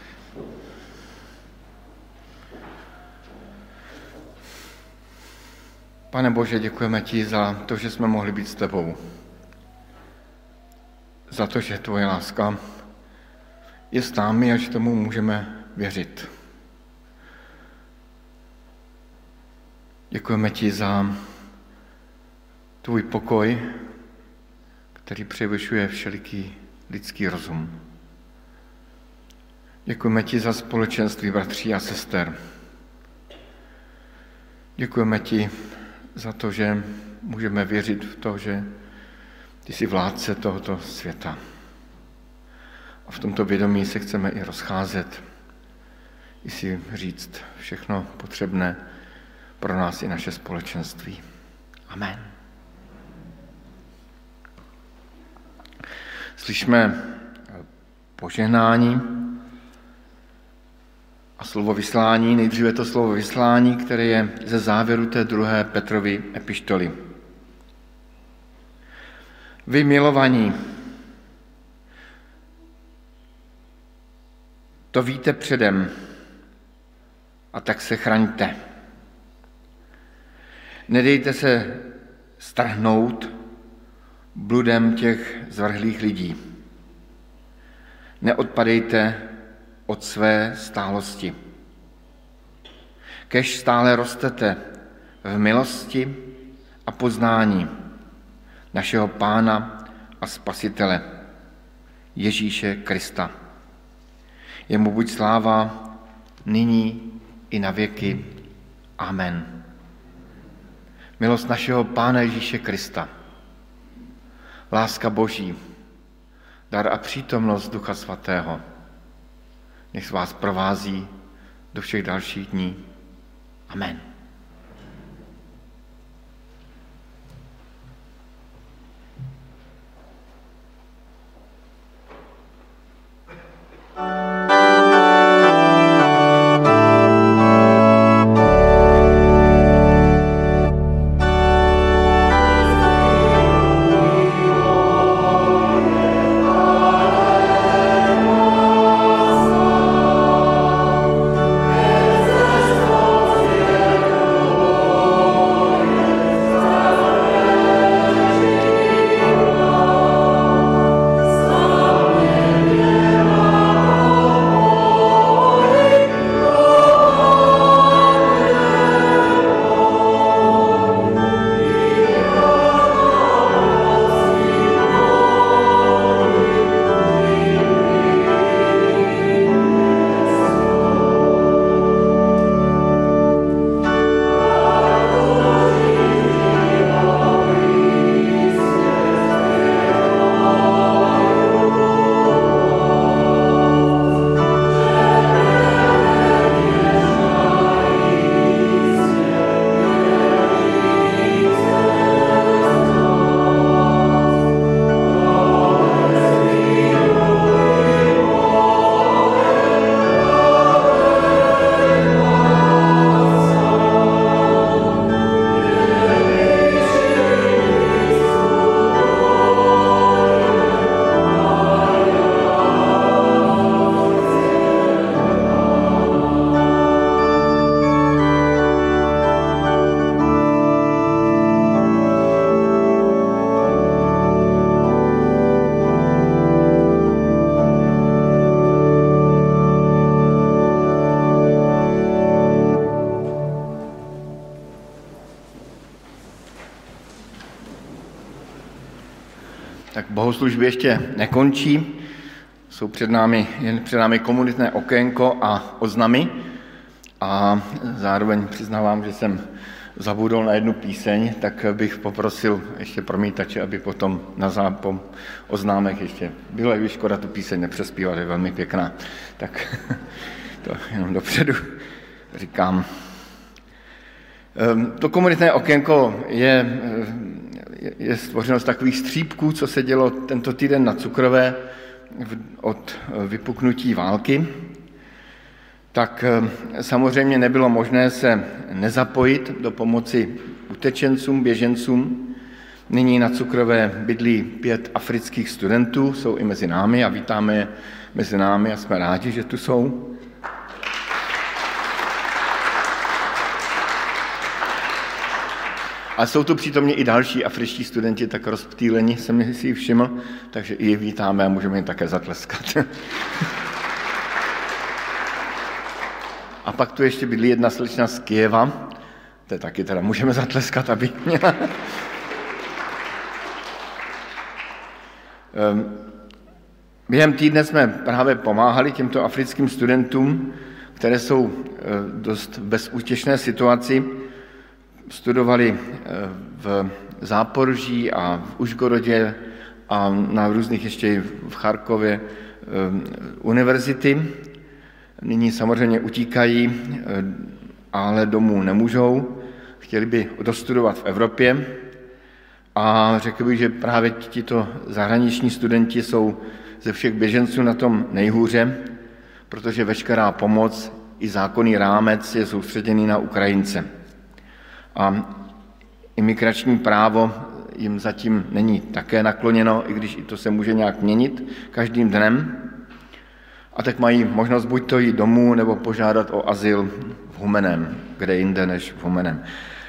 Pane Bože, děkujeme ti za to, že jsme mohli být s tebou. Za to, že tvoje láska je s námi a že tomu můžeme věřit. Děkujeme ti za tvůj pokoj, který převyšuje všeliký lidský rozum. Děkujeme ti za společenství bratří a sester. Děkujeme ti za to, že můžeme věřit v to, že ty jsi vládce tohoto světa. A v tomto vědomí se chceme i rozcházet, i si říct všechno potřebné pro nás i naše společenství. Amen. Slyšme požehnání a slovo vyslání. Nejdříve to slovo vyslání, které je ze závěru té 2. Petrovy epištoly. Vy milovaní, to víte předem, a tak se chraňte. Nedejte se strhnout bludem těch zvrhlých lidí. Neodpadejte od své stálosti. Kež stále rostete v milosti a poznání našeho Pána a Spasitele, Ježíše Krista. Jemu buď sláva nyní i na věky. Amen. Milost našeho Pána Ježíše Krista, láska Boží, dar a přítomnost Ducha Svatého, nech vás provází do všech dalších dní. Amen. Tak bohoslužby ještě nekončí. Jsou před námi komunitné okénko a oznamy. A zároveň přiznávám, že jsem zabudol na jednu píseň, tak bych poprosil ještě promítače, aby potom na zápom oznámek ještě bylo, když škoda tu píseň nepřespívat, je velmi pěkná. Tak to jenom dopředu říkám. To komunitné okénko je stvořeno z takových střípků, co se dělo tento týden na Cukrové od vypuknutí války. Tak samozřejmě nebylo možné se nezapojit do pomoci utečencům, běžencům. Nyní na Cukrové bydlí 5 afrických studentů, jsou i mezi námi a vítáme je mezi námi a jsme rádi, že tu jsou. A jsou tu přítomně i další afričtí studenti, tak rozptýleni jsem si ji všiml, takže i je vítáme a můžeme jim také zatleskat. A pak tu ještě bydlí jedna slečna z Kyjeva, to taky teda můžeme zatleskat, aby měla. Během týdne jsme právě pomáhali těmto africkým studentům, které jsou dost v bezútěšné situaci. Studovali v Záporoží a v Užgorodě a na různých ještě v Charkově univerzity. Nyní samozřejmě utíkají, ale domů nemůžou. Chtěli by dostudovat v Evropě a řekl bych, že právě tito zahraniční studenti jsou ze všech běženců na tom nejhůře, protože veškerá pomoc i zákonný rámec je soustředěný na Ukrajince. A imigrační právo jim zatím není také nakloněno, i když i to se může nějak měnit každým dnem. A tak mají možnost buď to jít domů, nebo požádat o azyl v Humeném, kde jinde než v Humeném.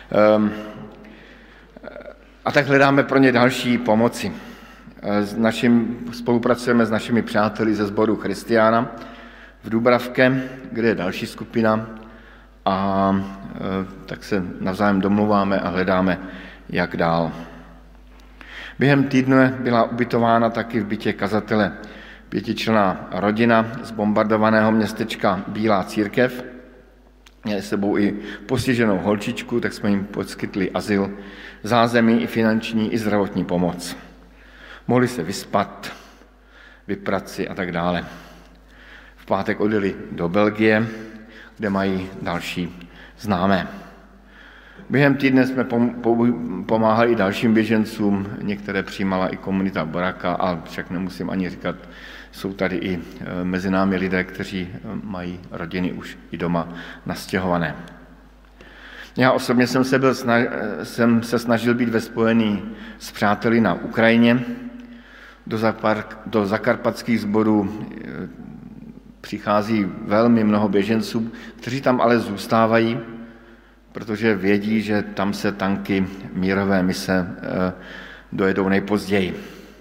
A tak hledáme pro ně další pomoci. Spolupracujeme s našimi přáteli ze sboru Christiana v Dubravke, kde je další skupina, a tak se navzájem domluváme a hledáme, jak dál. Během týdne byla ubytována taky v bytě kazatele 5členná rodina z bombardovaného městečka Bílá církev. Měli s sebou i postiženou holčičku, tak jsme jim poskytli azyl, zázemí i finanční, i zdravotní pomoc. Mohli se vyspat, vyprat si a tak dále. V pátek odjeli do Belgie, kde mají další známé. Během týdne jsme pomáhali i dalším běžencům, některé přijímala i komunita Boraka, a však nemusím ani říkat, jsou tady i mezi námi lidé, kteří mají rodiny už i doma nastěhované. Já osobně jsem se snažil být ve spojení s přáteli na Ukrajině. Do zakarpatských sborů přichází velmi mnoho běženců, kteří tam ale zůstávají, protože vědí, že tam se tanky mírové mise dojedou nejpozději.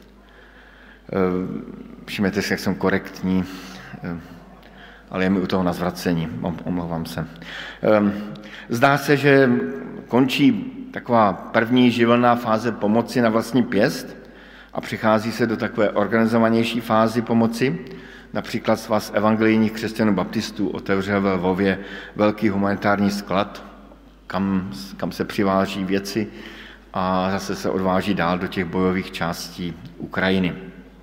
Všimněte si, jak jsem korektní, ale je mi u toho na zvracení, omlouvám se. Zdá se, že končí taková první živelná fáze pomoci na vlastní pěst a přichází se do takové organizovanější fázy pomoci. Například Svaz evangelijních křesťanů baptistů otevřel ve Lvově velký humanitární sklad, kam se přiváží věci a zase se odváží dál do těch bojových částí Ukrajiny.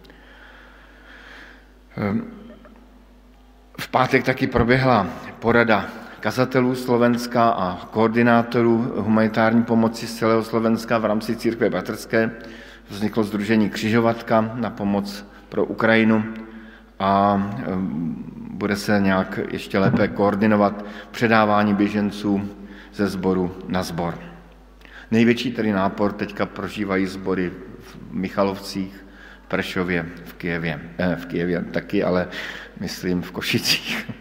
V pátek taky proběhla porada kazatelů Slovenska a koordinátorů humanitární pomoci z celého Slovenska v rámci církve bratrské. Vzniklo sdružení Křižovatka na pomoc pro Ukrajinu a bude se nějak ještě lépe koordinovat předávání běženců ze sboru na sbor. Největší tedy nápor teďka prožívají sbory v Michalovcích, v Prešově, v Kyjevě taky, ale myslím v Košicích.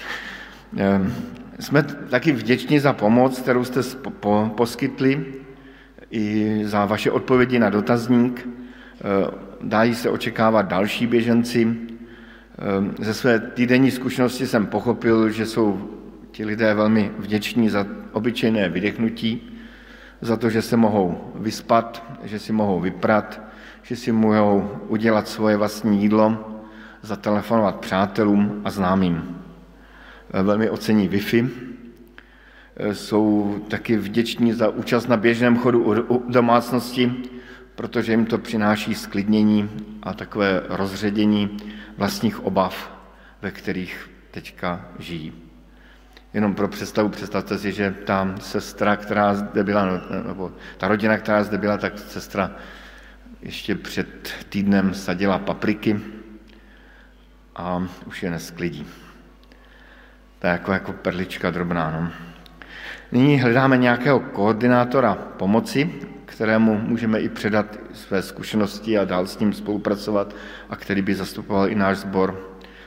Jsme taky vděční za pomoc, kterou jste poskytli, i za vaše odpovědi na dotazník. Dají se očekávat další běženci. Ze své týdenní zkušenosti jsem pochopil, že jsou ti lidé velmi vděční za obyčejné vydechnutí, za to, že se mohou vyspat, že si mohou vyprat, že si mohou udělat svoje vlastní jídlo, zatelefonovat přátelům a známým. Velmi ocení Wi-Fi. Jsou taky vděční za účast na běžném chodu u domácnosti, protože jim to přináší sklidnění a takové rozředění vlastních obav, ve kterých teďka žijí. Jenom pro představu, představte si, že ta sestra, která zde byla, nebo ta rodina, která zde byla, tak sestra ještě před týdnem sadila papriky a už je nesklidí. To je jako perlička drobná. No. Nyní hledáme nějakého koordinátora pomoci, kterému můžeme i předat své zkušenosti a dál s ním spolupracovat a který by zastupoval i náš sbor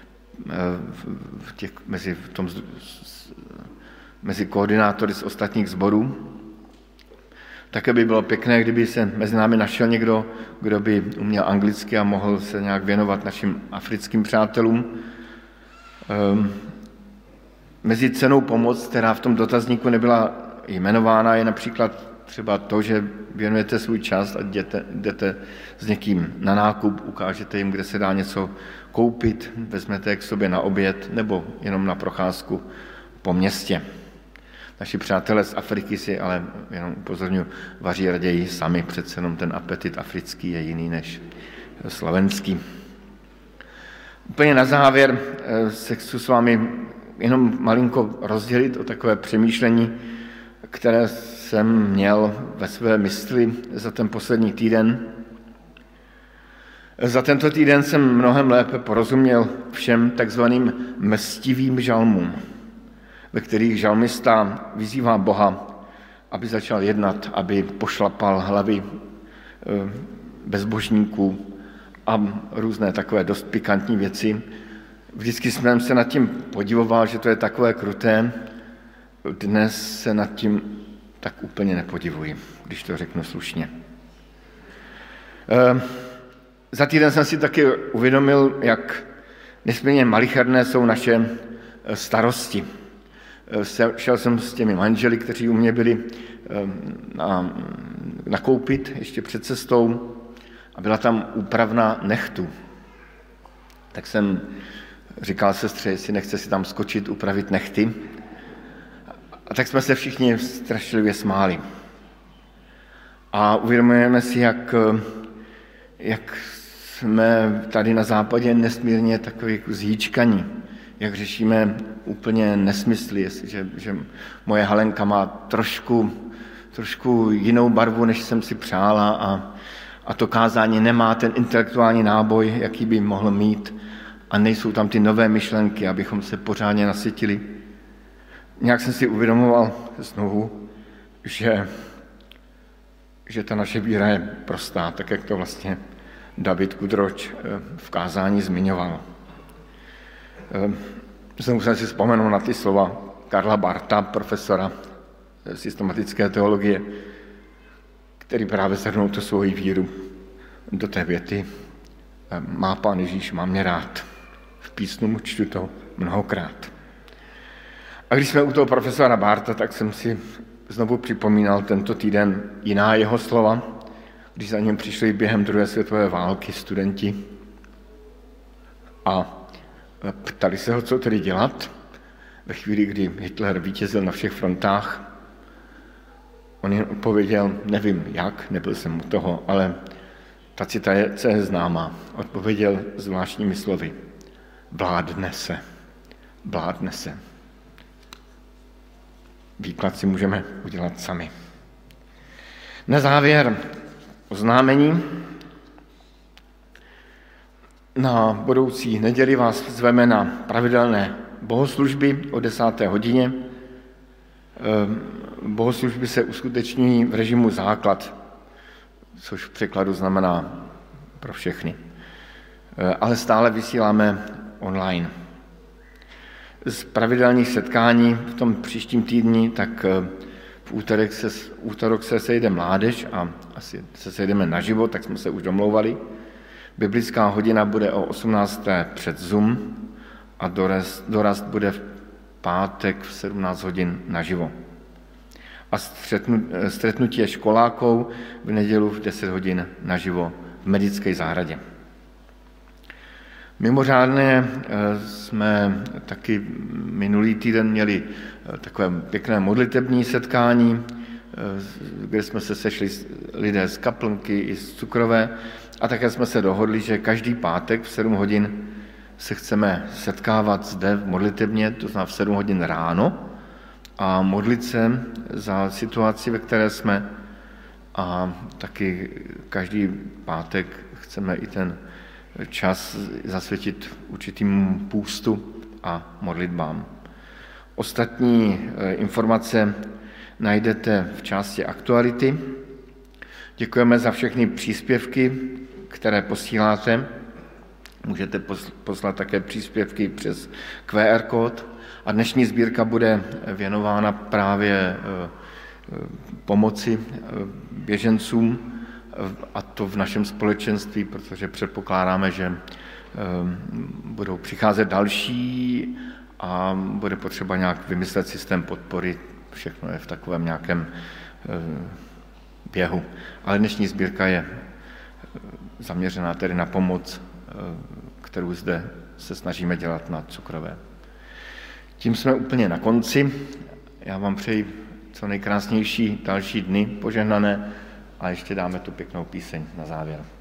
mezi koordinátory z ostatních sborů. Také by bylo pěkné, kdyby se mezi námi našel někdo, kdo by uměl anglicky a mohl se nějak věnovat našim africkým přátelům. Mezi cenou pomoc, která v tom dotazníku nebyla jmenována, je například třeba to, že věnujete svůj čas a jdete s někým na nákup, ukážete jim, kde se dá něco koupit, vezmete je k sobě na oběd nebo jenom na procházku po městě. Naši přátelé z Afriky si ale, jenom upozorňuji, vaří raději sami, přece jenom ten apetit africký je jiný než slovenský. Úplně na závěr se chci s vámi jenom malinko rozdělit o takové přemýšlení, které jsem měl ve své mysli za ten poslední týden. Za tento týden jsem mnohem lépe porozuměl všem takzvaným mstivým žalmům, ve kterých žalmista vyzývá Boha, aby začal jednat, aby pošlapal hlavy bezbožníků a různé takové dost pikantní věci. Vždycky jsem se nad tím podivoval, že to je takové kruté. Dnes se nad tím tak úplně nepodivuji, když to řeknu slušně. Za týden jsem si taky uvědomil, jak nesmírně malicherné jsou naše starosti. Šel jsem s těmi manželi, kteří u mě byli nakoupit ještě před cestou a byla tam úpravna nechtů. Tak jsem říkal sestře, jestli nechce si tam skočit, upravit nechty. A tak jsme se všichni strašlivě smáli. A uvědomujeme si, jak jsme tady na západě nesmírně takový zhýčkaní, jak řešíme úplně nesmysly, že moje Halenka má trošku jinou barvu, než jsem si přála a to kázání nemá ten intelektuální náboj, jaký by mohl mít a nejsou tam ty nové myšlenky, abychom se pořádně nasytili. Nějak jsem si uvědomoval znovu, že ta naše víra je prostá, tak jak to vlastně David Kudroč v kázání zmiňoval. Znovu jsem si vzpomenul na ty slova Karla Barta, profesora systematické teologie, který právě shrnul tu svoji víru do té věty: má Pán Ježíš, má mě rád. V písmu mu čtu to mnohokrát. A když jsme u toho profesora Barta, tak jsem si znovu připomínal tento týden jiná jeho slova, když za ním přišli během druhé světové války studenti a ptali se ho, co tedy dělat ve chvíli, kdy Hitler vítězil na všech frontách. On jen odpověděl, nevím jak, nebyl jsem u toho, ale ta citace je známá. Odpověděl zvláštními slovy: vládne se, vládne se. Výklad si můžeme udělat sami. Na závěr oznámení. Na budoucí neděli vás zveme na pravidelné bohoslužby o 10. hodině. Bohoslužby se uskuteční v režimu základ, což v překladu znamená pro všechny. Ale stále vysíláme online. Z pravidelných setkání v tom příštím týdni, tak v útorok se sejde mládež a asi se sejdeme naživo, tak jsme se už domlouvali. Biblická hodina bude o 18. před Zoom a dorast bude v pátek v 17 hodin naživo. A stretnutí školáků v nedělu v 10 hodin naživo v Medické zahradě. Mimořádně jsme taky minulý týden měli takové pěkné modlitební setkání, kde jsme se sešli lidé z Kaplnky i z Cukrové a také jsme se dohodli, že každý pátek v 7 hodin se chceme setkávat zde v modlitebně, to znamená v 7 hodin ráno a modlit se za situaci, ve které jsme a taky každý pátek chceme i ten čas zasvětit určitým půstu a modlitbám. Ostatní informace najdete v části aktuality Děkujeme za všechny příspěvky, které posíláte. Můžete poslat také příspěvky přes QR kód. A dnešní sbírka bude věnována právě pomoci běžencům, a to v našem společenství, protože předpokládáme, že budou přicházet další a bude potřeba nějak vymyslet systém podpory. Všechno je v takovém nějakém běhu. Ale dnešní sbírka je zaměřená tedy na pomoc, kterou zde se snažíme dělat na Cukrové. Tím jsme úplně na konci. Já vám přeji co nejkrásnější další dny požehnané a ještě dáme tu pěknou píseň na závěr.